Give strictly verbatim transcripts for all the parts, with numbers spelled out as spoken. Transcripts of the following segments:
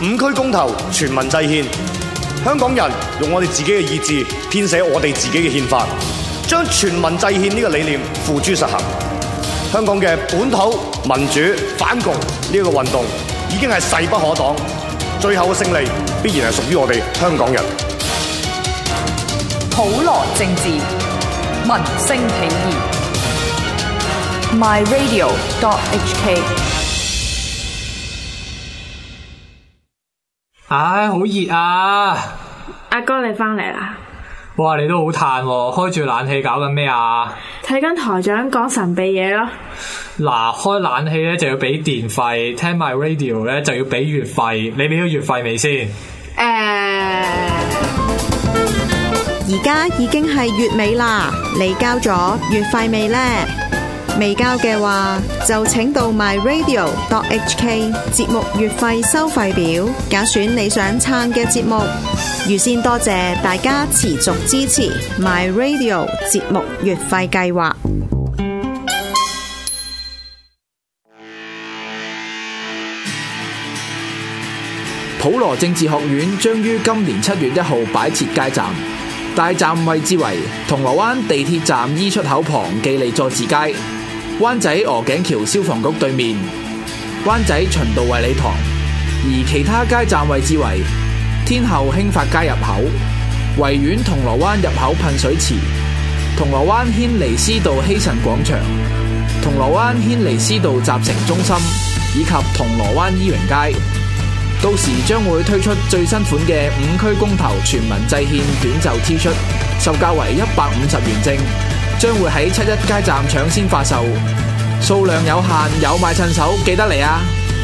五區公投，全民制憲，香港人用我哋自己嘅意志編寫我哋自己嘅憲法，將全民制憲呢個理念付諸實行。香港嘅本土民主反共呢一個運動已經係勢不可擋，最後嘅勝利必然係屬於我哋香港人。 普羅政治，民聲起義。My Radio dot H K。 唉，好熱啊！ 阿哥你翻嚟啦！ 哇，你都好嘆喎，開住冷氣搞緊咩啊？ 睇緊台長講神秘嘢咯。 嗱，開冷氣咧就要俾電費，聽 My Radio 咧就要俾月費。你俾咗月費未先？誒、 呃， 而家已經係月尾啦，你交咗月費未呢？未交嘅話，就請到 My Radio dot H K 節目月費收費表，揀選你想撐嘅節目。預先多謝大家持續支持 My Radio 節目月費計劃。 普羅政治學院將於今年七月一號擺設街站，大站位置為銅鑼灣地鐵站 E 出口旁記利佐治街、灣仔鵝頸橋消防局對面、灣仔循道衛理堂，而其他街站位置為天后興發街入口、維園銅鑼灣入口噴水池、銅鑼灣軒尼詩道希慎廣場、銅鑼灣軒尼詩道集成中心以及銅鑼灣伊榮街。到時將會推出最新款嘅五區公投全民制憲短袖 T 恤，售價為一百五十元正，將會喺七一街站搶先發售，數量有限，有買趁手，記得嚟啊！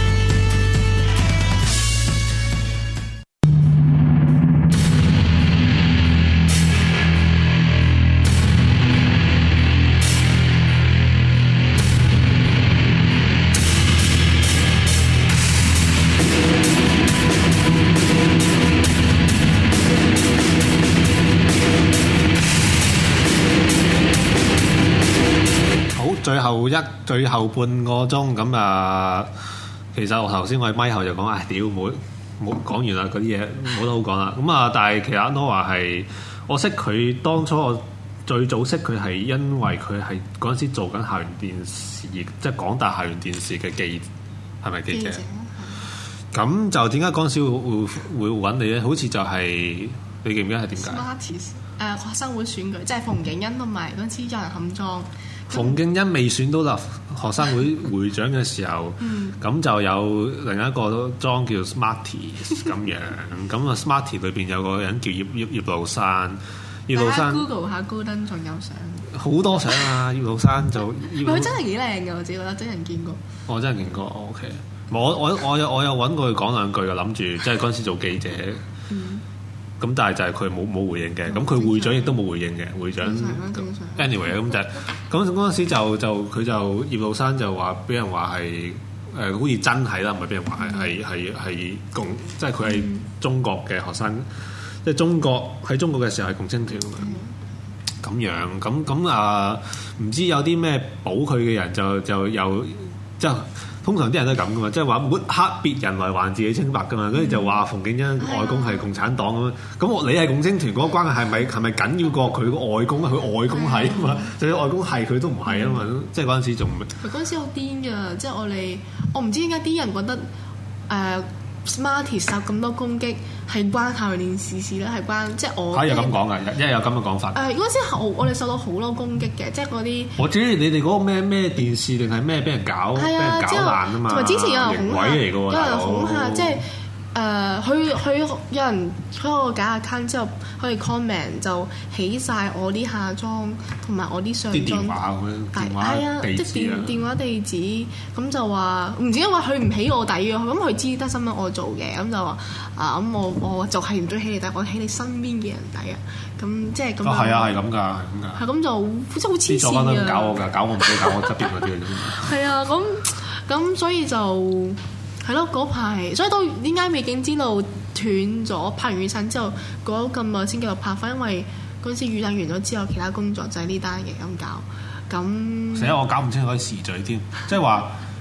最後一最後半個鐘咁啊，其實我頭先我喺咪後就講，唉屌冇冇講完啦，嗰啲嘢冇得好講啦。咁啊，但係其實阿 No 話係我識佢當初我最早識佢係因為佢係嗰陣時做緊校園電視，即係港大校園電視嘅記係咪記者？咁就點解嗰陣時會會會揾你咧？好似就係、是、你記唔記得係點解？誒、 呃、學生會選舉，即係馮景恩同埋嗰陣時有人冚莊。 馮敬恩未選到立學生會會長嘅時候，咁、嗯、就有另一個莊叫 Smarties 咁樣，咁啊 Smarties 裏邊有個人叫葉葉葉老山，葉老山 Google 下高登仲有相， 好多相啊！葉老山就佢真係幾靚嘅，我自己覺得真人見過。 我真係見過 ，OK。我我我有我有揾過佢講兩句嘅，諗住即係嗰陣時做記者。嗯咁但係就係佢冇冇回應嘅，咁佢會長亦都冇回應嘅，會長。anyway 咁就咁嗰陣時就就佢就葉老山就話俾人話係誒好似真係啦，唔係俾人話係係係係共，即係佢係中國嘅學生，即係中國喺中國嘅時候係共青團咁樣，咁咁啊唔知有啲咩保佢嘅人就就有即係。通常啲人都係咁噶嘛，即係話抹黑別人來還自己清白噶嘛，跟住、嗯、就話馮敬恩外公係共產黨咁樣，咁我、嗯、你係共青團嗰個關係係咪係咪緊要過佢個外公？佢外公係啊嘛，就算、嗯、外公係佢都唔係啊嘛，嗯、即係嗰陣時仲。 佢嗰陣時好癲㗎，即係我哋我唔知點解啲人覺得誒。呃 Smarties 受咁多攻擊係關校園電視事咧，係關即係我。可以咁講㗎，因為有咁嘅講法。誒嗰陣時我我哋受到好多攻擊嘅，即係嗰啲。我知你哋嗰個咩咩電視定係咩俾人搞，俾、啊、人搞爛啊嘛。同埋之前有人恐嚇，有人恐嚇，即係。誒，佢佢、呃、有人開個假 account 之後，可以 comment 就起晒我啲下裝同埋我啲上裝，啲電話咁樣，電話地址啊，即係電電話地址，咁就話唔知因為佢唔起我底嘅，咁佢知得新聞我做嘅，咁就話啊咁我我就係唔中意起你底，我起你身邊嘅人底啊，咁即係咁。哦，係啊，係咁㗎，係咁㗎。係咁就真係好黐線㗎。搞我㗎，搞我唔使搞我側邊嗰啲嘅啫。係啊，咁咁所以就。係咯，嗰排所以都點解未竟之路斷咗？拍完雨傘之後，過咗咁耐先繼續拍翻，因為嗰陣時雨傘完咗之後，其他工作就係呢單嘢咁搞。咁，成日我搞唔清楚啲時序添，即係話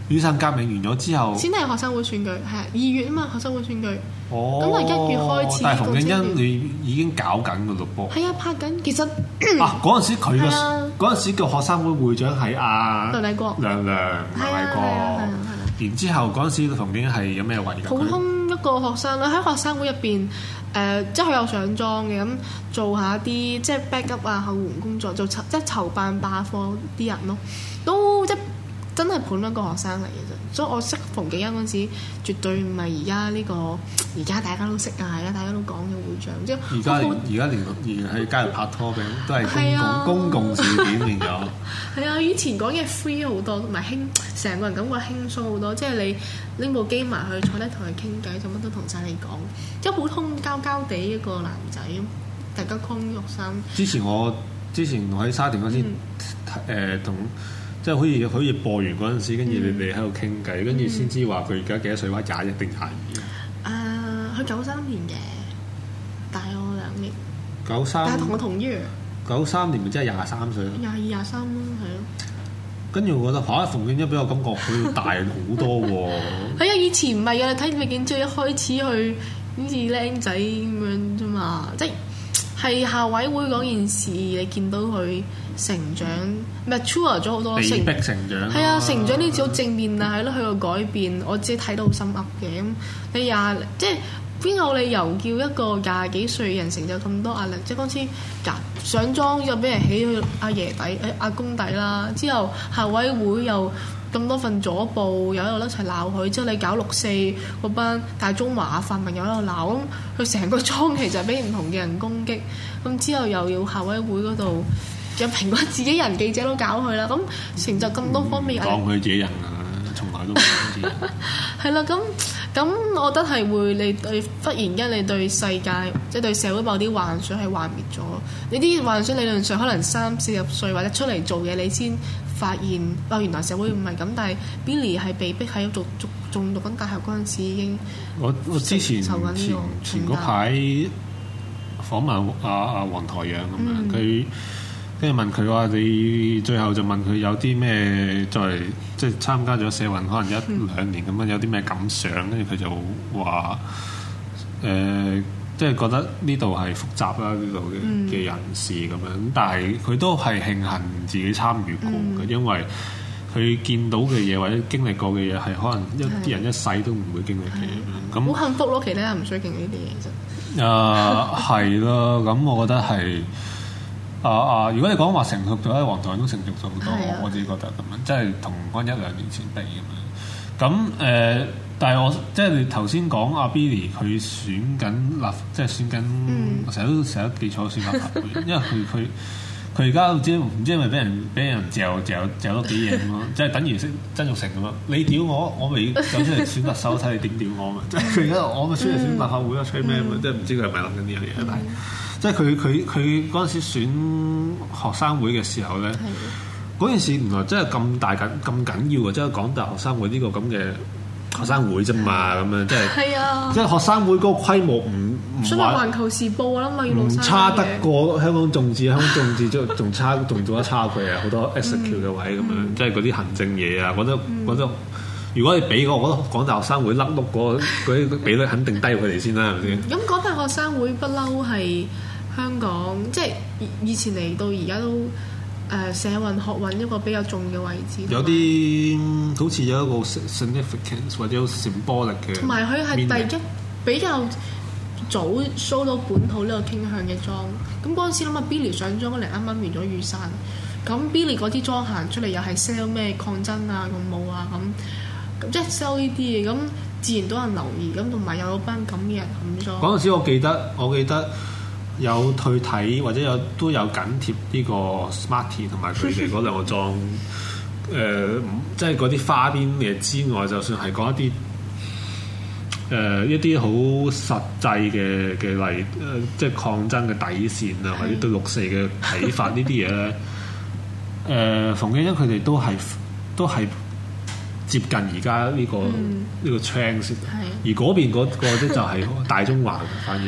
雨傘革命完咗之後， 先係學生會選舉，係二月啊嘛，學生會選舉。 哦， 咁啊一月開始。 但係馮敬恩你已經搞緊㗎咯噃。 係啊，拍緊。其實啊，嗰陣時佢嘅嗰陣時嘅學生會會長係阿梁麗國， 梁梁梁麗國。然之後嗰陣時馮敬恩係有咩位㗎？ 普通一個學生啦，喺學生會入邊。誒、呃，即係佢有上莊嘅，咁做下啲即係 backup 啊後援工作，做籌即係籌辦罷課啲人咯，都即係真係盤一個學生嚟嘅啫。所以我識馮敬恩嗰陣時，絕對唔係而家呢個而家大家都識啊，而家大家都講嘅會長。即係而家而家連連喺街度拍拖嘅都係公共、啊、公共事件變咗。 係啊，以前講嘢 free 好多，同埋輕成個人感覺輕鬆好多。即係你拎部機埋去坐低同佢傾偈，就乜都同晒你講，即係普通交交地一個男仔，大家康玉生。 之前我之前我喺沙田嗰陣時誒同。即係好似好似播完嗰陣時，跟住你哋喺度傾偈，跟住先知話佢而家幾多歲？話廿一定廿二啊？誒，佢九三年嘅，大我兩年。 九三， 但係同我同月。九三年咪即係廿三歲咯。 廿二、廿三咯，係咯。 跟住我覺得嚇，馮敬恩俾我感覺佢大好多喎。 係啊，以前唔係啊，你睇李景追一開始去好似僆仔咁樣啫嘛，即係。係校委會嗰件事，你見到佢成長 mature 咗好多， 被逼成長。 係啊，成長呢啲好正面啊，係咯，佢個改變，我自己睇到好心噏嘅。咁你廿即係邊有理由叫一個廿幾歲人成就咁多壓力？即係嗰次上莊又俾人起佢阿爺底誒阿公底啦，之後校委會又咁多份左報，又喺度一齊鬧佢。之後你搞六四嗰班大中華泛民又喺度鬧，咁佢成個莊其實俾唔同嘅人攻擊。咁之後又要校委會嗰度有蘋果自己人記者都搞佢啦。咁成就咁多方面， 講佢自己人啊，從來都唔講自己人。 係啦，咁咁我覺得係會你對忽然間你對世界即係對社會某啲幻想係幻滅咗。你啲幻想理論上可能三四十歲或者出嚟做嘢你先發現，哦原來社會唔係咁。但係 Billy 係被逼喺讀讀仲讀緊大學嗰陣時已經我我之前前前嗰排訪問阿阿黃台仰咁樣，佢跟住問佢話：你最後就問佢有啲咩再即係參加咗社運可能一、嗯、兩年咁樣有啲咩感想？跟住佢就話：誒、呃，即係覺得呢度係複雜啦，呢度嘅嘅人士咁樣。但係佢都係慶幸自己參與過嘅，嗯、因為佢見到嘅嘢或者經歷過嘅嘢係可能一啲人一世都唔會經歷嘅。咁好幸福咯，其他人唔需要經歷呢啲嘢其實。 誒係咯，咁我覺得係啊啊！如果你講話成熟咗，喺黃台都成熟咗好多，啊、我自己覺得咁樣，即係同翻一兩年前比咁樣。咁誒、呃，但係我即係你頭先講阿 Billy 佢選緊立，即係選緊，我成日都成日記錯選立法會，因為佢佢佢而家唔知唔知係咪俾人俾人嚼嚼嚼多幾嘢咁咯，即係等於識曾鈺成咁咯。你屌我，我咪走出嚟選特首，睇你點屌我嘛。即係佢而家我咪出嚟選立法會啊，吹咩嘛？即係唔知佢係咪諗緊呢樣嘢？但係即係佢佢佢嗰陣時選學生會嘅時候咧，嗰件事原來真係咁大緊咁緊要嘅，即係港大學生會呢個咁嘅學生會啫嘛，咁樣即係即係學生會嗰個規模唔唔話環球時報啦嘛， 唔差得過香港眾志，香港眾志仲仲差仲做得差佢啊，好多 execute 嘅位咁樣，即係嗰啲行政嘢啊，覺得覺得如果你俾我，我覺得港大學生會甩碌嗰嗰啲比率肯定低佢哋先啦，係咪先？ 咁港大學生會不嬲係香港，即係以前嚟到而家都誒、呃、社運學運一個比較重嘅位置。 有啲好似有一個 significance 或者 symbolic 嘅。同埋佢係第一比較早 show 到本土呢個傾向嘅莊。咁嗰陣時諗下 Billy 上莊嗰年啱啱完咗雨傘，咁 Billy 嗰啲莊行出嚟又係 sell 咩抗爭啊、勇武啊咁，咁即係 sell 呢啲嘢，咁自然都有人留意，咁同埋有班咁嘅人冚莊。 嗰陣時我記得，我記得。有退睇或者有都有緊貼呢個 Smarty 同埋佢哋嗰兩個莊，誒、呃，即係嗰啲花邊嘅之外，就算係講一啲誒、呃、一啲好實際嘅嘅例，誒、呃，即係抗爭嘅底線啊，或者對六四嘅睇法呢啲嘢咧，誒、呃，馮敬恩佢哋都係都係接近而家呢個呢、嗯、個 trend 先，而嗰邊嗰個咧就係大中華嘅反而。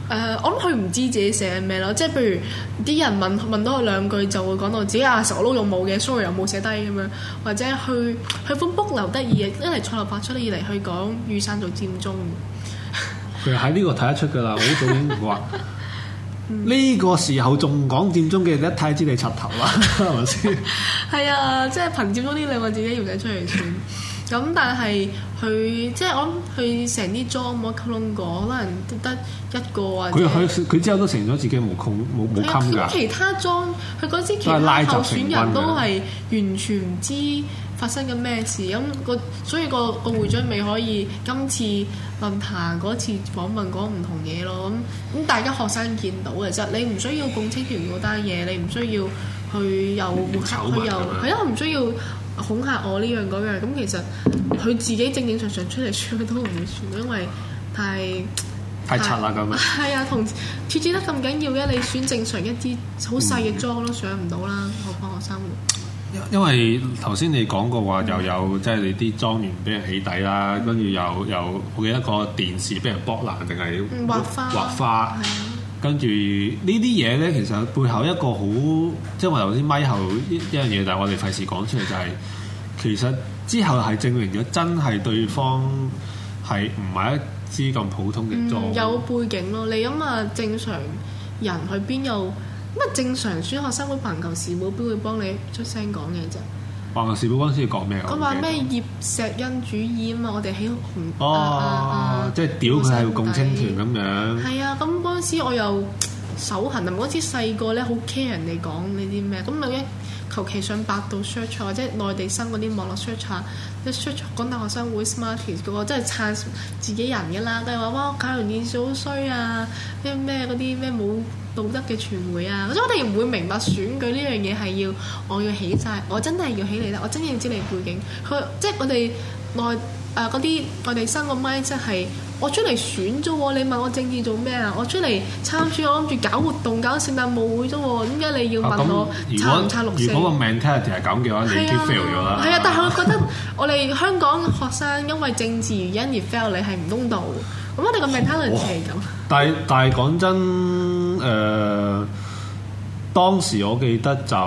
誒，我諗佢唔知自己寫咩咯，即係譬如啲人問問到佢兩句，就會講到自己啊成個撈用冇嘅 sorry 又冇寫低咁樣，或者去佢本 book 留得意嘅，一嚟蔡立發出嚟，二嚟去講雨傘做佔中。 其實喺呢個睇得出㗎啦，好早已經話呢個時候仲講佔中嘅，一睇知你柒頭啦，係咪先？係啊，即係憑佔中呢兩個字要寫出嚟算。咁但係佢即係我諗佢成啲裝冇溝通過，可能得一個或者佢佢佢之後都成咗自己冇控冇冇襟㗎。 其他裝佢嗰啲其他候選人都係完全唔知發生緊咩事，咁個所以個個會長咪可以今次論壇嗰次訪問講唔同嘢咯。咁咁大家學生見到嘅啫，你唔需要共青團嗰單嘢，你唔需要去又抹黑，佢又係啊，唔需要恐嚇我呢樣嗰樣。咁其實佢自己正正常常出嚟選都唔會選，因為太太柒啦咁啊。 係啊，同設置得咁緊要嘅，你選正常一啲好細嘅莊都上唔到啦，何況學生活。 因為頭先你講過話又有即係你啲莊園俾人起底啦，跟住又又我記得個電視俾人剝爛定係畫花畫花，跟住呢啲嘢咧，其實背後一個好即係我頭先咪後一樣嘢，但係我哋費事講出嚟就係、是、其實之後係證明咗真係對方係唔係一支咁普通嘅莊、 嗯，有背景咯。你諗下正常人去邊有？咁啊，正常選學生會籃球事務邊會幫你出聲講嘢啫？ 籃球事務嗰陣時講咩？ 佢話咩葉錫恩主義啊嘛，我哋喺紅哦，啊啊、即係屌佢係共青團咁樣。係啊，咁嗰陣時我又手痕啊！嗰陣時細個咧好 care 人哋講呢啲咩，咁你一求其上百度 search 或者內地生嗰啲網絡 search 下，即 search 港大學生會 Smarties 嗰個，真係撐自己人嘅啦，都係話哇搞完電視好衰啊，咩咩嗰啲咩冇道德嘅傳媒啊，所以我哋唔會明白選舉呢樣嘢係要我要起晒，我真係要起你啦，我真係要知你背景。佢即係我哋內誒嗰啲我哋生個咪，即係我出嚟選啫喎，你問我政治做咩啊？我出嚟參選，我諗住搞活動、搞聖誕舞會啫喎，點解你要問我撐唔撐六四？ 如果個 mentality 係咁嘅話，你已經 fail 咗啦。 係啊，但係我覺得我哋香港學生因為政治原因而 fail，你係唔公道。咁我哋個 mentality 係咁。但係但係講真，誒、呃、當時我記得就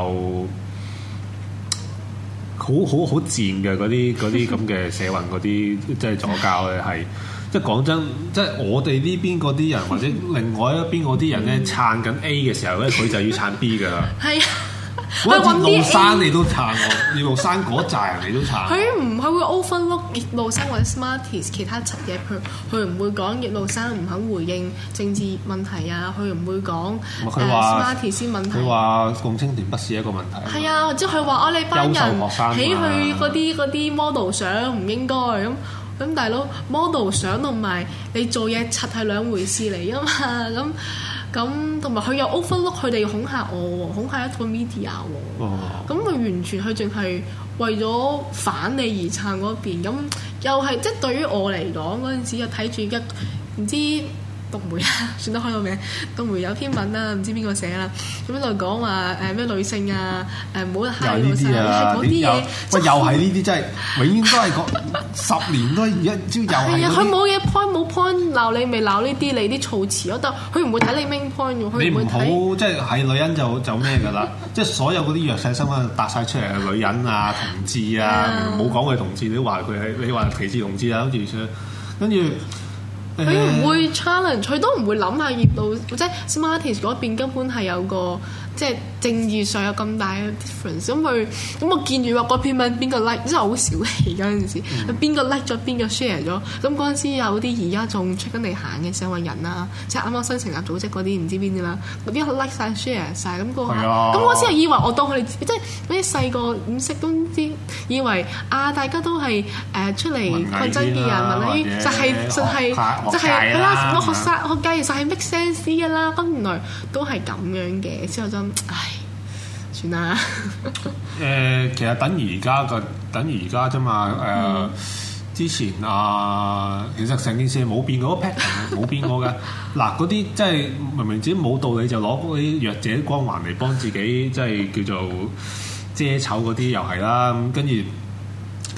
好好好賤嘅嗰啲嗰啲咁嘅社運嗰啲，即係左膠咧係。即係講真，即係我哋呢邊嗰啲人，或者另外一邊嗰啲人咧，撐緊 A 嘅時候咧，佢就要撐 B 㗎啦。係啊，葉露珊你都撐我，葉露珊嗰扎人你都撐。佢唔係會 overlook 葉露珊或者 Smarties 其他柒嘢，佢佢唔會講葉露珊唔肯回應政治問題啊，佢唔會講誒 Smarties 先問題。 佢話共青團不是一個問題。 係啊，即係佢話我哋班人起去嗰啲嗰啲 model 相唔應該咁。咁大佬 model 相同埋你做嘢柒係兩回事嚟啊嘛，咁咁同埋佢又 overlook 佢哋恐嚇我，恐嚇一個 media 喎，咁佢、哦、完全佢淨係為咗反你而撐嗰邊，咁又係即係對於我嚟講嗰陣時又睇住一唔知。東媒啊，算得開個名。東媒有篇文啦，唔知邊個寫啦，咁喺度講話誒咩女性啊，誒唔好閪老細，係嗰啲嘢。 喂，又係呢啲真係永遠都係講十年都一朝又係。係啊， 佢冇嘢 point 冇 point 鬧你，咪鬧呢啲你啲措辭咯。但佢唔會睇你 main point 喎。 你唔好即係係女人就就咩㗎啦？即係所有嗰啲弱勢新聞搭晒出嚟嘅女人啊、同志啊，唔好講佢同志，你都話佢係你話歧視同志啊，跟住跟住。 佢唔會 challenge，佢都唔會諗下葉露即係 Smarties 嗰邊根本係有個即係政治上有咁大嘅 difference。咁佢咁我見住話嗰篇文邊個 like， 真係好小氣嗰陣時，邊個 like 咗邊個 share 咗。咁嗰陣時有啲而家仲出緊嚟行嘅社運人啦，即係啱啱新成立組織嗰啲唔知邊啲啦，嗰啲 like 晒 share 晒。咁個咁我先係以為我當佢哋即係嗰啲細個唔識都知，以為啊大家都係誒、呃、出嚟抗爭嘅人，問你就係就係。就係係啦，我學生學界其實係 make sense 嘅啦，咁原來都係咁樣嘅，之後就唉，算啦。誒、 呃，其實等於而家個，等於而家啫嘛。誒、呃，嗯、之前啊，其實成件事冇變過，pattern 冇變過嘅。嗱，嗰啲即係明明自己冇道理，就攞嗰啲弱者光環嚟幫自己，即係叫做遮醜嗰啲又係啦。咁跟住。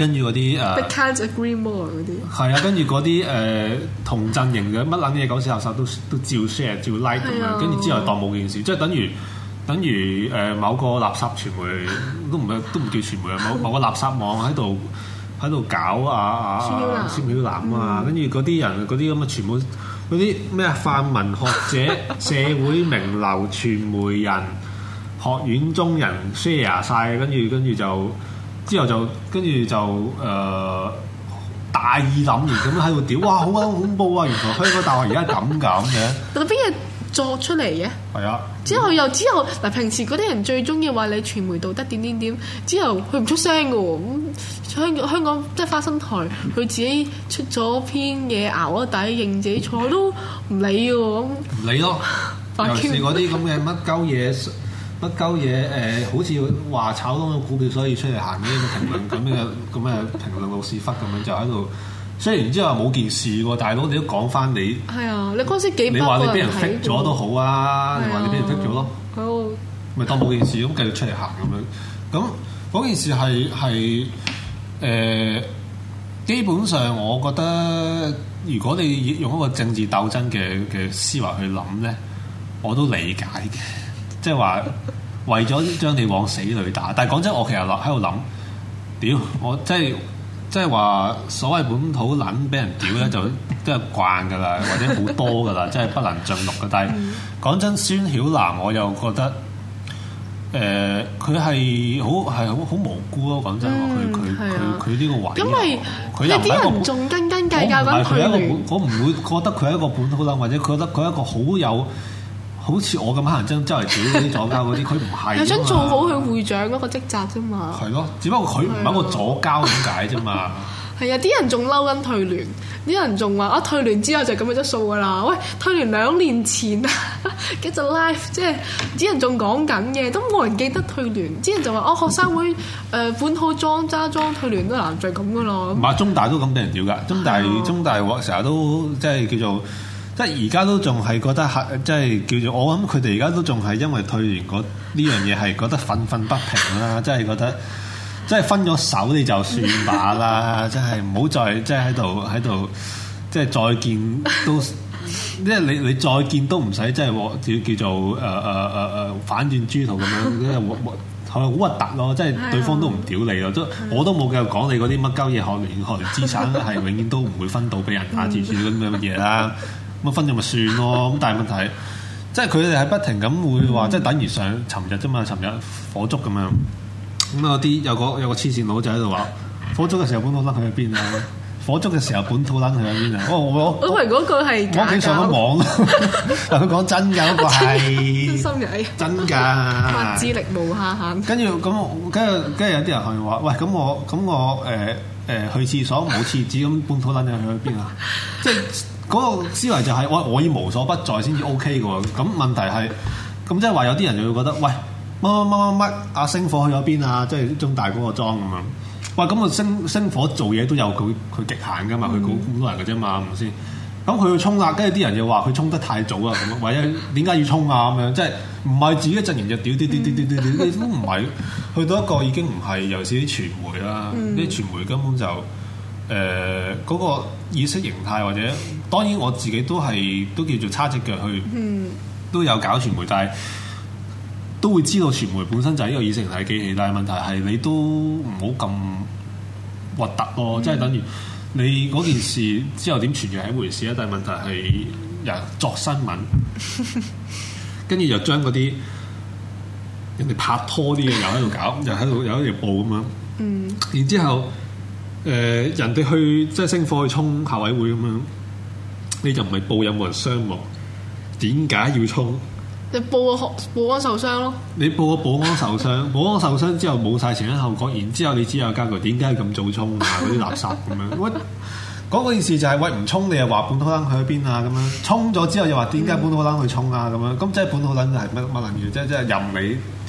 跟住嗰啲誒 They can't agree more 嗰啲。 係啊，跟住嗰啲誒同陣營嘅乜撚嘢狗屎垃圾都都照 share 照 like 咁樣，跟住之後當冇件事，即係等於等於誒、呃、某個垃圾傳媒都唔係都唔叫傳媒啊，某某個垃圾網喺度喺度搞啊啊啊孫曉南啊，跟住嗰啲人嗰啲咁嘅全部嗰啲咩泛民學者、社會名流、傳媒人、學院中人 share 晒，跟住跟住就之後就跟住就誒、呃、大義凜然咁喺度屌，哇好鬼恐怖啊！原來香港大學而家咁咁嘅， 但係邊嘢作出嚟嘅？ 係啊。 之後又之後嗱，平時嗰啲人最中意話你傳媒道德點點點，之後佢唔出聲嘅喎。咁香港香港即係花生台，佢自己出咗篇嘢熬咗底，認自己錯都唔理嘅喎。 唔理咯，尤其是嗰啲咁嘅乜鳩嘢乜鳩嘢誒，好似話炒多個股票，所以出嚟行呢個評論咁嘅咁嘅評論老屎忽咁樣就喺度。雖然之後冇件事喎，大佬你都講翻你係啊，你嗰時幾百你話你俾人睇剔咗都好啊，你話你俾人剔咗咯，咪當冇件事咁繼續出嚟行咁樣。咁嗰件事係係誒，基本上我覺得如果你用一個政治鬥爭嘅嘅思維去諗咧，我都理解嘅，即係話為咗將你往死裏打。但係講真，我其實落喺度諗，屌我即係。即係話所謂本土撚俾人屌咧，就都係慣㗎啦，或者好多㗎啦，即係不能盡錄嘅。但係講真，孫曉南我又覺得誒，佢係好係好好無辜咯。講真，佢佢佢佢呢個位， 因為佢有啲人仲斤斤計較緊佢哋。 我唔會覺得佢係一個本土撚，或者佢覺得佢係一個好有。好似我咁黑人憎周圍屌嗰啲左膠嗰啲，佢唔係。係想做好佢會長嗰個職責啫嘛。 係咯，只不過佢唔係一個左膠咁解啫嘛。 係啊，啲人仲嬲緊退聯，啲人仲話啊退聯之後就咁嘅質素㗎啦。喂，退聯兩年前啊，幾隻 live 即係啲人仲講緊嘅，都冇人記得退聯。啲人就話哦，學生會誒、呃、本土裝揸裝退聯都難就係咁㗎啦。 唔係中大都咁俾人屌㗎，中大中大成日都即係叫做。即係而家都仲係覺得係，即係叫做我諗佢哋而家都仲係因為退聯嗰呢樣嘢係覺得憤憤不平啦，即係覺得即係分咗手你就算罷啦，即係唔好再即係喺度喺度即係再見都，即係你你再見都唔使即係叫叫做誒誒誒誒反轉豬肚咁樣，即係係好核突咯，即係對方都唔屌你咯，都我都冇繼續講你嗰啲乜鳩嘢學聯學聯資產係永遠都唔會分到俾人啊，之類咁樣嘅嘢啦。咁分咗咪算咯，咁但係問題，即係佢哋係不停咁會話，嗯、即係等於上尋日啫嘛，尋日火燭咁樣，咁有啲有個有個黐線佬就喺度話，火燭嘅時候本土撚去咗邊啊？火燭嘅時候本土撚去咗邊啊？我我我以為嗰個係我屋企上咗網，但佢講真㗎，嗰、嗰個係真心嘅， 真㗎， 智力無下限。 跟住咁，跟住跟住有啲人係話，喂，咁我咁我誒誒、呃呃、去廁所冇廁紙，咁本土撚又去咗邊啊？即係。嗰個思維就係、是、我我要無所不在先至 O K 嘅喎，咁問題係咁即係話有啲人就會覺得，喂，乜乜乜乜乜阿星火去咗邊啊？即係中大嗰個莊咁樣，喂，咁個星星火做嘢都有佢佢極限㗎嘛，佢咁咁多人嘅啫嘛，係咪先？咁佢要衝啦，跟住啲人又話佢衝得太早啊，咁或者點解要衝啊？咁樣即係唔係自己陣營就屌屌屌屌屌屌屌，都唔係去到一個已經唔係，尤其是啲傳媒啦，啲、嗯、傳媒根本就。誒嗰、呃那個意識形態或者當然我自己都係都叫做叉隻腳去，嗯、都有搞傳媒，但係都會知道傳媒本身就係一個意識形態機器。但係問題係你都唔好咁核突咯，即係、嗯、等於你嗰件事之後點傳揚係一回事啊。但係問題係人作新聞，跟住又將嗰啲人哋拍拖啲嘢又喺度搞，又喺度又喺度報咁樣，嗯、然之後。誒、呃、人哋去即係星火去衝校委會咁樣，你就唔係報有冇人傷亡？點解要衝？ 你報個保安受傷咯。你報個保安受傷，保安受傷之後冇晒前因後果，然之後你只有加句點解咁早衝啊？嗰啲垃圾咁樣。喂，講嗰件事就係、是、喂唔衝你又話本土撚去咗邊啊？咁樣衝咗之後又話點解本土撚去衝啊？咁樣咁即係本土撚係乜乜撚嘢？即係即係任你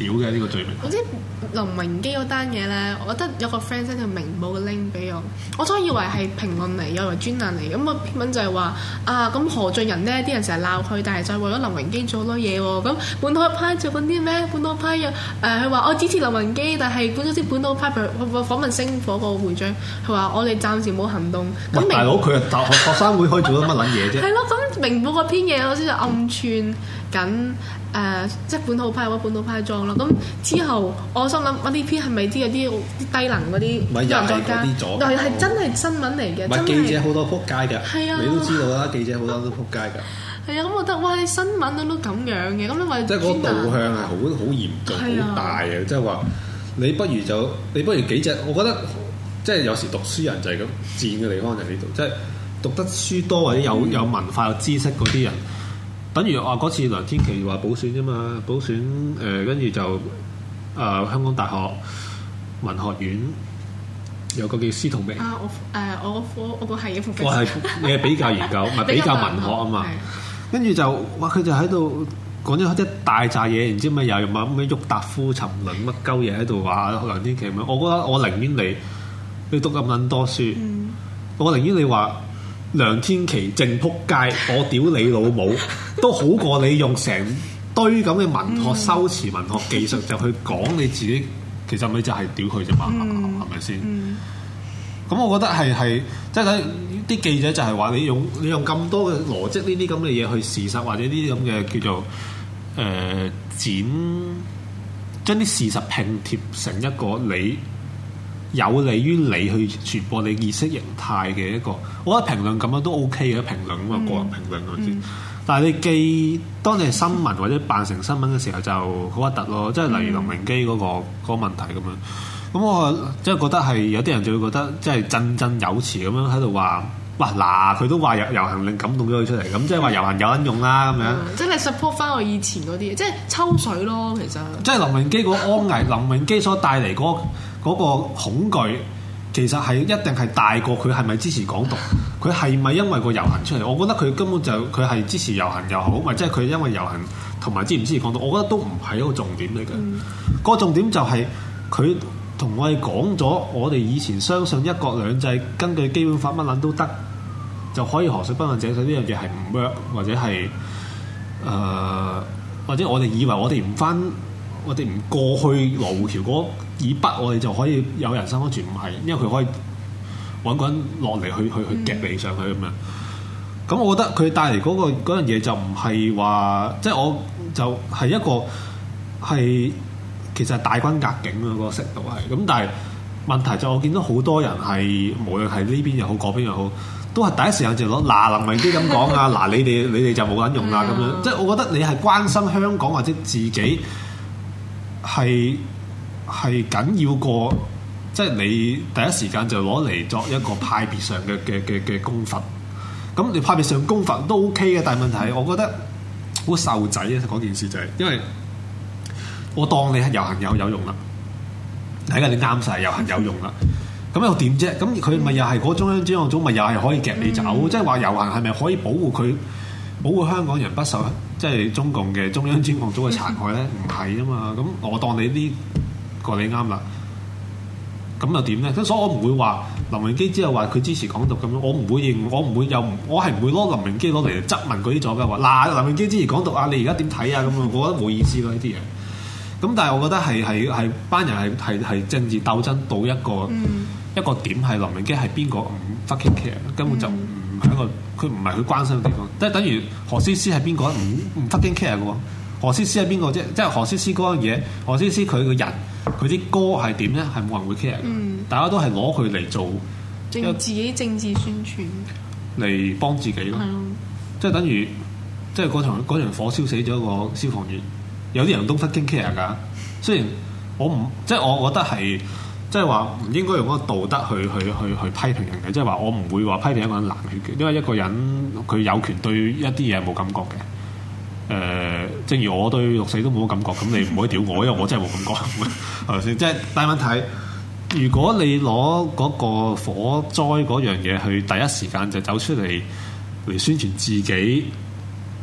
屌嘅呢個罪名。 我知林榮基嗰單嘢咧，我覺得有個 friend send 條明報嘅 link 俾我，我初以為係評論嚟，以為專欄嚟，咁個篇文就係話啊，咁何俊仁呢啲人成日鬧佢，但係就係為咗林榮基做好多嘢喎。咁本土派做緊啲咩？本土派又誒，佢話我支持林榮基，但係本咗啲本土派，譬如訪問星火個會長，佢話我哋暫時冇行動。咁大佬佢係大學學生會可以做到乜撚嘢啫？ 係咯，咁明報嗰篇嘢我先就暗串緊。誒、呃，即係本土派或者本土派裝咯。咁之後，我心諗，我呢篇係咪啲有啲低能嗰啲人作家？但係係真係新聞嚟嘅。 唔係記者好多撲街㗎， 係啊， 你都知道啦。記者好多都撲街㗎。 係啊，咁我覺得哇！你新聞都咁樣嘅，咁因為即係嗰個導向係好好嚴重、好大嘅。即係話你不如就你不如幾隻？我覺得即係有時讀書人就係咁賤嘅地方就喺呢度，即係讀得書多或者有有文化有知識嗰啲人。等於話嗰次梁天琦話補選啫嘛，補選誒跟住就誒、呃、香港大學文學院有個叫司徒明啊，我誒、呃、我科我個係嘅副我係你係比較研究，唔係比較文學啊嘛。跟住就哇佢就喺度講咗一大扎嘢，唔知咩又又話咩郁達夫沉淪乜鳩嘢喺度話梁天琦咁樣。我覺得我寧願你你讀咁撚多書，嗯、我寧願你話。梁天琦正撲街，我屌你老母，都好過你用成堆咁嘅文學修辭、文學技術就去講你自己，其實咪就係屌佢啫嘛，係咪先？咁我覺得係係，即係睇啲記者就係話你用你用咁多嘅邏輯呢啲咁嘅嘢去事實或者呢啲咁嘅叫做誒、呃、剪，將啲事實拼貼成一個你。有利於你去傳播你意識形態嘅一個，我覺得評論咁樣都 OK 嘅評論啊嘛，個人評論嗰啲。但係你記當你係新聞或者扮成新聞嘅時候就好核突咯，即係例如林榮基嗰個嗰個問題咁樣。咁我即係覺得係有啲人就會覺得即係振振有詞咁樣喺度話，哇嗱佢都話遊遊行令感動咗佢出嚟，咁即係話遊行有撚用啦咁樣。即係 support 翻我以前嗰啲，即係抽水咯，其實。 即係林榮基嗰個安危，林榮基所帶嚟嗰嗰個恐懼其實係一定係大過佢係咪支持港獨？佢係咪因為個遊行出嚟？我覺得佢根本就佢係支持遊行又好，或者係佢因為遊行同埋支唔支持港獨，我覺得都唔係一個重點嚟嘅。嗯、個重點就係佢同我哋講咗，我哋以前相信一國兩制，根據基本法乜撚都得，就可以河水不犯井水呢樣嘢係唔 work，或者係誒、呃，或者我哋以為我哋唔翻。我哋唔過去羅湖橋嗰以北，我哋就可以有人身安全，唔係，因為佢可以揾個人落嚟去去去夾你上去咁樣。咁、嗯、我覺得佢帶嚟嗰個嗰樣嘢就唔係話，即係我就係一個係其實係大軍壓境啊，嗰個程度係。咁但係問題就我見到好多人係無論係呢邊又好，嗰邊又好，都係第一時間就攞嗱林榮基咁講啊，嗱你哋你哋就冇撚用啦咁樣。即係我覺得你係關心香港或者自己。係係緊要過，即係你第一時間就攞嚟作一個派別上嘅嘅嘅嘅功罰。咁你派別上功罰都 OK 嘅，但係問題係我覺得好受仔啊！嗰件事就係、是、因為我當你係遊行有有用啦，睇下你啱晒遊行有用啦。咁又點啫？咁佢咪又係嗰中央專案組咪又係可以夾你走？嗯、即係話遊行係咪可以保護佢？保護香港人不受即係中共嘅中央專案組嘅殘害咧，唔係啊嘛。咁我當你呢個你啱啦，咁又點咧？咁所以我唔會話林榮基之後話佢支持港獨咁樣，我唔會認，我唔會又我係唔會攞林榮基攞嚟質問嗰啲作家話嗱林榮基支持港獨啊，你而家點睇啊？咁啊，我覺得冇意思咯呢啲嘢。咁但係我覺得係係係班人係係係政治鬥爭到一個、嗯、一個點係林榮基係邊個唔 fucking care，根本就唔係一個。佢唔係佢關心嘅地方，即係等於何詩詩係邊個唔唔 fucking care 嘅喎？何詩詩係邊個啫？即係何詩詩嗰樣嘢，何詩詩佢個人，佢啲歌係點咧？係冇人會 care 嘅。嗯、大家都係攞佢嚟做政自己政治宣傳， 嚟幫自己咯。嗯、即係等於即係嗰場嗰場火燒死咗個消防員，有啲人都 fucking care 㗎。雖然我唔即係我覺得係。即係話唔應該用嗰個道德去去去去批評人嘅，即係話我唔會話批評一個人冷血嘅，因為一個人佢有權對一啲嘢冇感覺嘅。誒、呃，正如我對六四都冇感覺，咁你唔可以屌我，因為我真係冇感覺，係咪先？即係大問題，如果你攞嗰個火災嗰樣嘢去第一時間就走出嚟嚟宣傳自己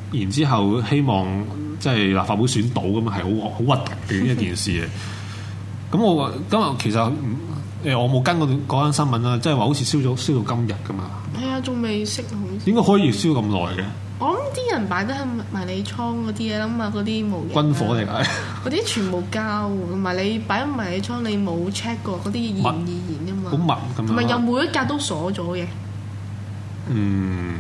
然之後希望即係立法會選到咁啊，係好好核突嘅一件事嘅。咁我今日其實誒我冇跟過嗰單新聞啦，即係話好似燒咗燒到今日噶嘛。 係啊，仲未熄好。 點解可以燒咁耐嘅？ 我諗啲人擺得喺迷你倉嗰啲嘢啦嘛，嗰啲模型軍火嚟㗎， 嗰啲全部膠，同埋你擺喺迷你倉，你冇 check 過嗰啲易燃易燃㗎嘛， 好密咁樣， 同埋有每一格都鎖咗嘅。 嗯，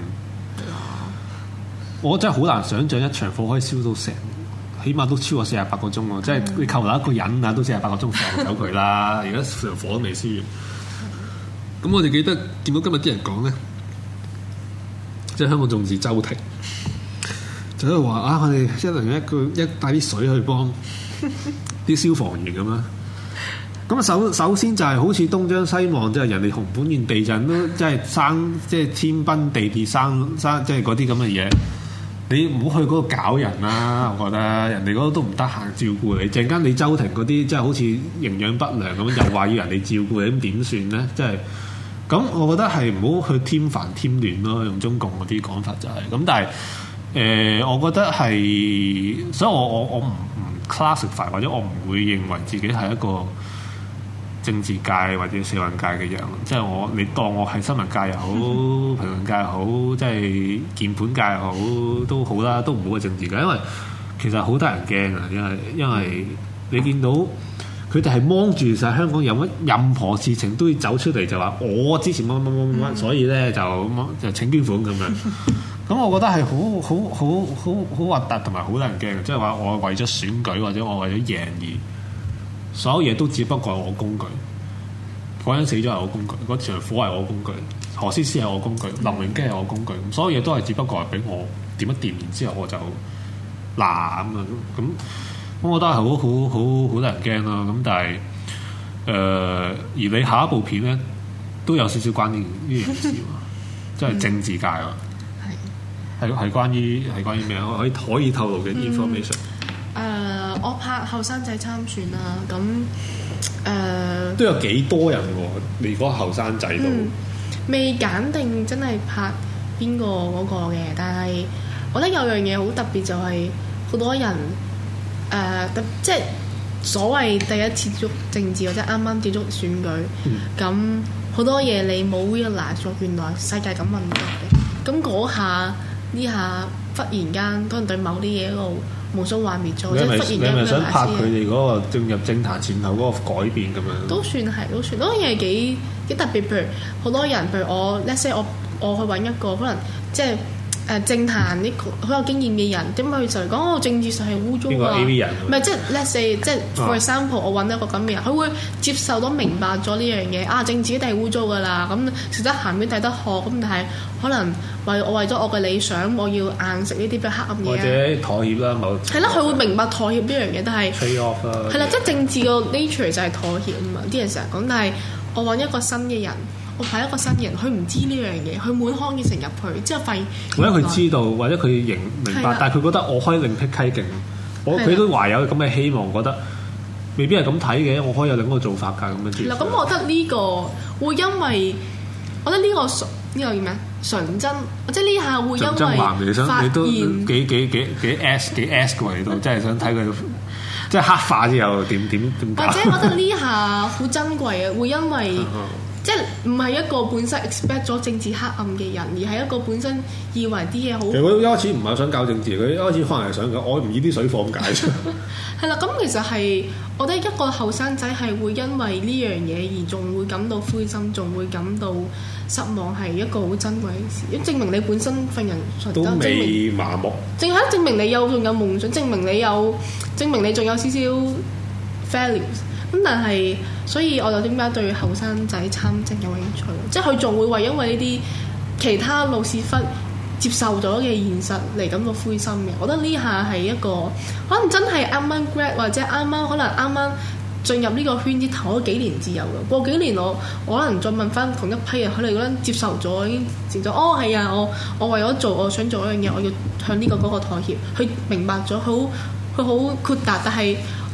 我真係好難想像一場火可以燒到成，起碼都超過四十八個鐘喎！即係你扣留一個人啊，都四十八個鐘放走佢啦。而家場火都未燒完，咁我哋記得見到今日啲人講咧。即係香港眾志周庭，就喺度話啊！我哋一人一個一帶啲水去幫啲消防員咁啦。咁啊首首先就係好似東張西望，即係人哋熊本縣地震都即係生即係天崩地裂生生即係嗰啲咁嘅嘢。你唔好去嗰度搞人啦！我覺得人哋嗰度都唔得閒照顧你。陣間你周庭嗰啲即係好似營養不良咁，又話要人哋照顧你，咁點算咧？即係。咁我覺得係唔好去添煩添亂咯，用中共嗰啲講法就係、是、咁。但係誒、呃，我覺得係，所以我我我唔唔 classify 或者我唔會認為自己係一個政治界或者社運界嘅人。即係我你當我係新聞界又好，評論界又好，即係鍵盤界又好都好啦，都唔好係政治界，因為其實好得人驚啊！因為因為你見到。佢哋係芒住晒香港有乜任何事情都要走出嚟，就話我之前乜乜乜乜乜，所以咧就就請捐款咁樣。咁我覺得係好好好好好核突同埋好得人驚嘅，即係話我為咗選舉或者我為咗贏而所有嘢都只不過係我工具。嗰人死咗係我工具，嗰場火係我工具，何詩詩係我工具，林榮基係我工具，所有嘢都係只不過係俾我點一掂，然之後我就嗱咁啊咁。咁我覺得係好好好好得人驚啦，咁但係誒、呃，而你下一部片咧都有少少關呢呢樣事喎，即係政治界喎，係係係關於係關於咩啊？可以可以透露嘅 information。誒、 嗯呃，我拍後生仔參選啦，咁誒、呃、 都有幾多人喎？你嗰後生仔都、嗯、 未揀定真係拍邊個嗰個嘅，但係我覺得有樣嘢好特別就係好多人。誒、呃，即係所謂第一次接觸政治或者啱啱接觸選舉，咁好、嗯、多嘢你冇 realize 咗，原來世界咁運作嘅。咁嗰下呢下忽然間，可能對某啲嘢一個無數幻滅咗，即係忽然間。你係咪想拍佢哋嗰個進入政壇前後嗰個改變咁樣？都算係，都算。嗰樣嘢幾幾特別。譬如好多人，譬如我 let's say 我我去揾一個可能即係。誒、呃、政壇啲好有經驗嘅人，點解佢就嚟講哦政治上係污糟啊？唔係即係 let's say 即係 for example，我揾一個咁嘅人，佢會接受到明白咗呢樣嘢啊！政治一定係污糟噶啦，咁食得鹹魚抵得渴，咁但係可能為我為咗我嘅理想，我要硬食呢啲比較黑暗嘢，或者妥協啦，某係啦，佢會明白妥協呢樣嘢，但係係啦，即係政治個 nature 就係妥協啊嘛！啲人成日講，但係我揾一個新嘅人。我派一個新人，佢唔知呢樣嘢，佢滿腔熱誠入去，之後發現或者佢知道，或者佢認明白，但係佢覺得我可以另辟蹊徑，我佢都懷有咁嘅希望，覺得未必係咁睇嘅，我可以有另一個做法㗎咁樣。係啦，咁我覺得呢個會因為，我覺得呢個純呢個叫咩？純真，即係呢下會因為發現幾幾幾幾 S 幾 S 嘅喎，你都真係想睇佢即係黑化之後點點點搞。或者我覺得呢下好珍貴嘅，會因為。即係唔係一個本身 expect 咗政治黑暗嘅人，而係一個本身以為啲嘢好。其實佢一開始唔係想搞政治，佢一開始可能係想講我唔要啲水貨咁解啫。係啦，咁其實係我覺得一個後生仔係會因為呢樣嘢而仲會感到灰心，仲會感到失望，係一個好珍貴嘅事。因為證明你本身份人都未麻木，正係證明你有仲有夢想，證明你有證明你仲有少少 values。咁但係，所以我就點解對後生仔參政有興趣？即係佢仲會為因為呢啲其他老屎忽接受咗嘅現實嚟感到灰心嘅。我覺得呢下係一個可能真係啱啱 grad 或者啱啱可能啱啱進入呢個圈子頭嗰幾年自由嘅。過幾年我我可能再問翻同一批人，佢哋覺得接受咗已經接咗。哦，係啊，我我為咗做我想做一樣嘢，我要向呢個嗰個妥協。佢明白咗，好佢好豁達，但係。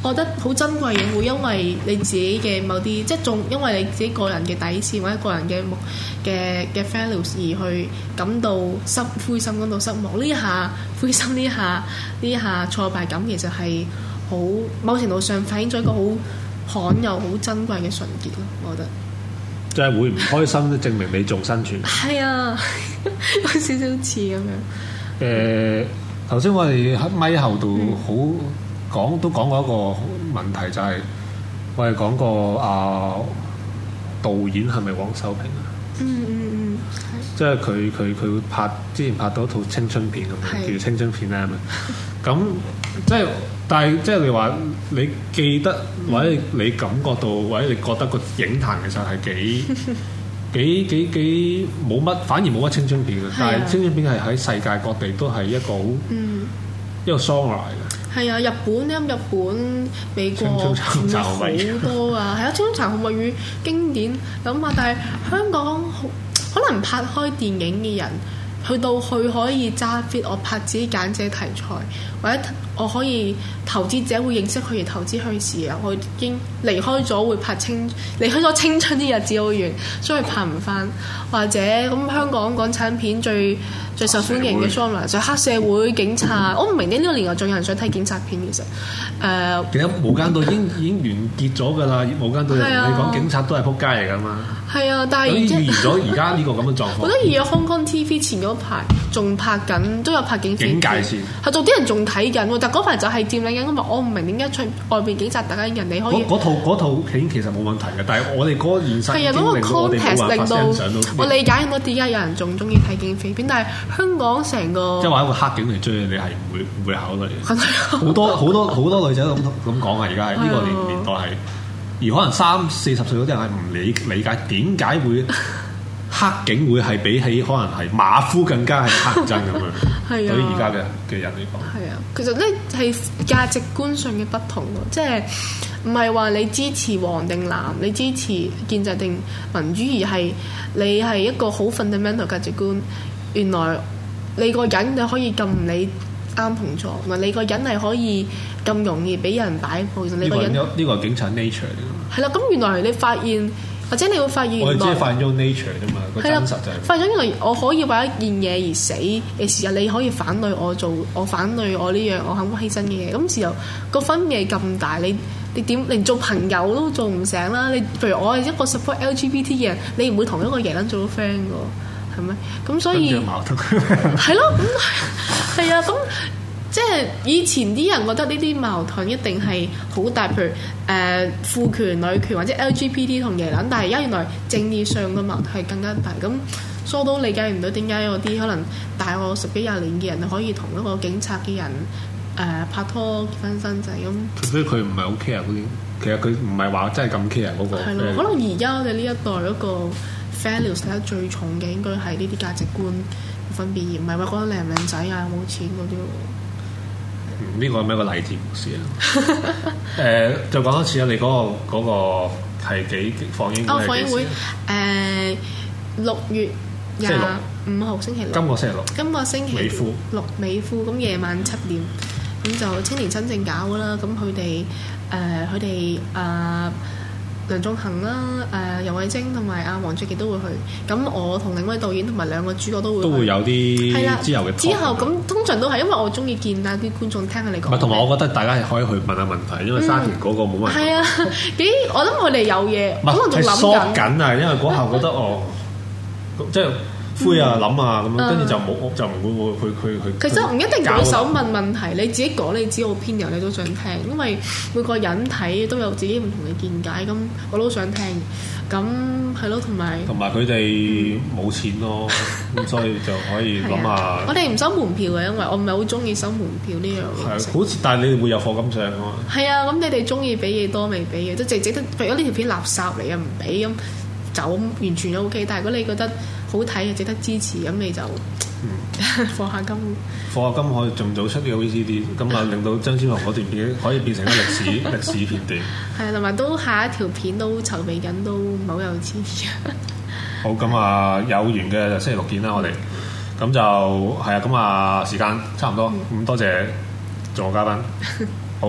我覺得好珍貴嘅，會因為你自己嘅某啲，即係仲因為你自己個人嘅底線或者個人嘅目嘅嘅 values 而去感到失灰心，感到失望。呢下灰心，呢下呢下挫敗感，其實係好某程度上反映咗一個好罕有、好珍貴嘅純潔咯。我覺得即係會唔開心都證明你仲生存。 係啊，有少少似咁樣。 誒頭先我哋喺咪後度好講都講過一個問題，就係、是、我哋講過啊導演係咪黃修平啊？ 嗯嗯嗯， 即係佢佢佢拍之前拍到一套青春片咁樣，叫青春片咧咁咁即係，但係即係你話你記得或者你感覺到或者你覺得個影壇其實係幾幾幾幾冇乜，反而冇乜青春片嘅，但係青春片係喺世界各地都係一個好、嗯、一個 genre 嚟嘅。係啊，日本咧，日本、美國好多啊，係啊，青春殘酷物語經典咁啊，但係香港可能拍開電影嘅人，去到去可以揸 fit，我拍自己揀自己題材，或者我可以投資者會認識佢而投資佢時啊，我已經離開咗會拍青離開咗青春啲日子好遠，所以拍唔翻。或者咁香港港產片最最受歡迎嘅 genre 就係黑社會警察，我唔明點呢個年代仲有人想睇警察片其實。誒、呃， 其實無間道已經已經完結咗㗎啦，無間道人同你講警察都係撲街嚟㗎嘛。 係啊，但係已經預言咗而家呢個咁嘅狀況。 我覺得而家 Hong Kong T V 前嗰排仲拍緊，都有拍警匪片。 警戒線係做啲人仲睇緊，但嗰排就係佔領緊。咁啊，我唔明點解出外邊警察大家人哋可以。 嗰套嗰套片其實冇問題嘅，但係我哋嗰個現實係啊，嗰個 context 令到我理解唔到點解有人仲中意睇警匪片，但係香港成個即係話一個黑警嚟追你，係唔會唔會考慮嘅。好多好多好多女仔都咁咁講啊！而家係呢個年年代係。而可能三四十歲嗰啲人係唔理理解點解會黑警會係比起可能係馬夫更加係黑人憎咁樣。係啊，對於而家嘅嘅人嚟講， 係啊，其實咧係價值觀上嘅不同咯，即係唔係話你支持黃定藍，你支持建制定民主，而係你係一個好 fundamental 價值觀。原來你個人你可以咁唔理啱同錯，同埋你個人係可以咁容易俾人擺佈。你個人呢個係警察 nature 嚟㗎。 係啦，咁原來你發現，或者你會發現原來， 我哋只係發現咗 nature 啫嘛，個真實就係發現咗原來我可以為一件嘢而死嘅時候，你可以反對我做，我反對我呢樣我肯犧牲嘅嘢。咁時候個分野咁大，你你點連做朋友都做唔成啦？你譬如我係一個 support L G B T 嘅人，你唔會同一個耶撚做到 friend 㗎，係咪？咁所以係咯，咁係啊，咁。即係以前啲人覺得呢啲矛盾一定係好大，譬如誒、呃、父權、女權或者 L G B T 同耶撚，但係而家原來正義上嘅矛盾係更加大。咁疏都理解唔到點解有啲可能大我十幾廿年嘅人可以同一個警察嘅人誒、呃、拍拖結婚生仔咁。 所以佢唔係好 care 嗰啲，其實佢唔係話真係咁 care 嗰個。 係咯，可能而家我哋呢一代嗰個 values 睇得最重嘅應該係呢啲價值觀分別，而唔係話覺得靚唔靚仔啊、冇錢嗰啲。 呢個係咩個勵志故事啊？誒、呃，就講多次啊！你嗰、那個嗰、那個係幾放映會？哦， 放映會誒六月廿五號星期六。 今個星期六。 今個星期六美孚咁夜晚七點，咁就青年新政搞啦。咁佢哋誒佢哋啊梁仲恒啦、誒游蕙禎同埋阿黃卓傑都會去。咁我同另一位導演同埋兩個主角都會去。 都會有啲係啦之後嘅之後咁通常都係因為我中意見下啲觀眾聽下你講。 唔係，同埋我覺得大家係可以去問下問題，因為沙田嗰個冇問題。 係、嗯、啊，幾我諗佢哋有嘢，可能仲諗緊。 緊啊，因為嗰下覺得哦，即係。灰啊諗啊咁樣，跟住就冇就唔會會去去去。 其實唔一定舉手問問題，你自己講你自己 opinion，你都想聽，因為每個人睇都有自己唔同嘅見解，咁我都想聽。咁係咯，同埋同埋佢哋冇錢咯，咁所以就可以諗下。 我哋唔收門票嘅，因為我唔係好中意收門票呢樣嘢。 係，好似但係你哋會有課金上㗎嘛？ 係啊，咁你哋中意俾嘢多未俾嘅，都淨係值得。如果呢條片垃圾嚟啊，唔俾咁就完全都 OK。但係如果你覺得好睇嘅值得支持，咁你就課下金。 課下金可以盡早出呢個 V C D， 咁啊令到張超雄嗰段片可以變成一個歷史歷史片段。 係啊，同埋都下一條片都籌備緊，都唔好有錢嘅。 好，咁啊有緣嘅就星期六見啦，我哋。咁就係啊，咁啊時間差唔多，咁、嗯、多謝做我嘉賓。好，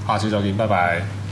下次再見，拜拜。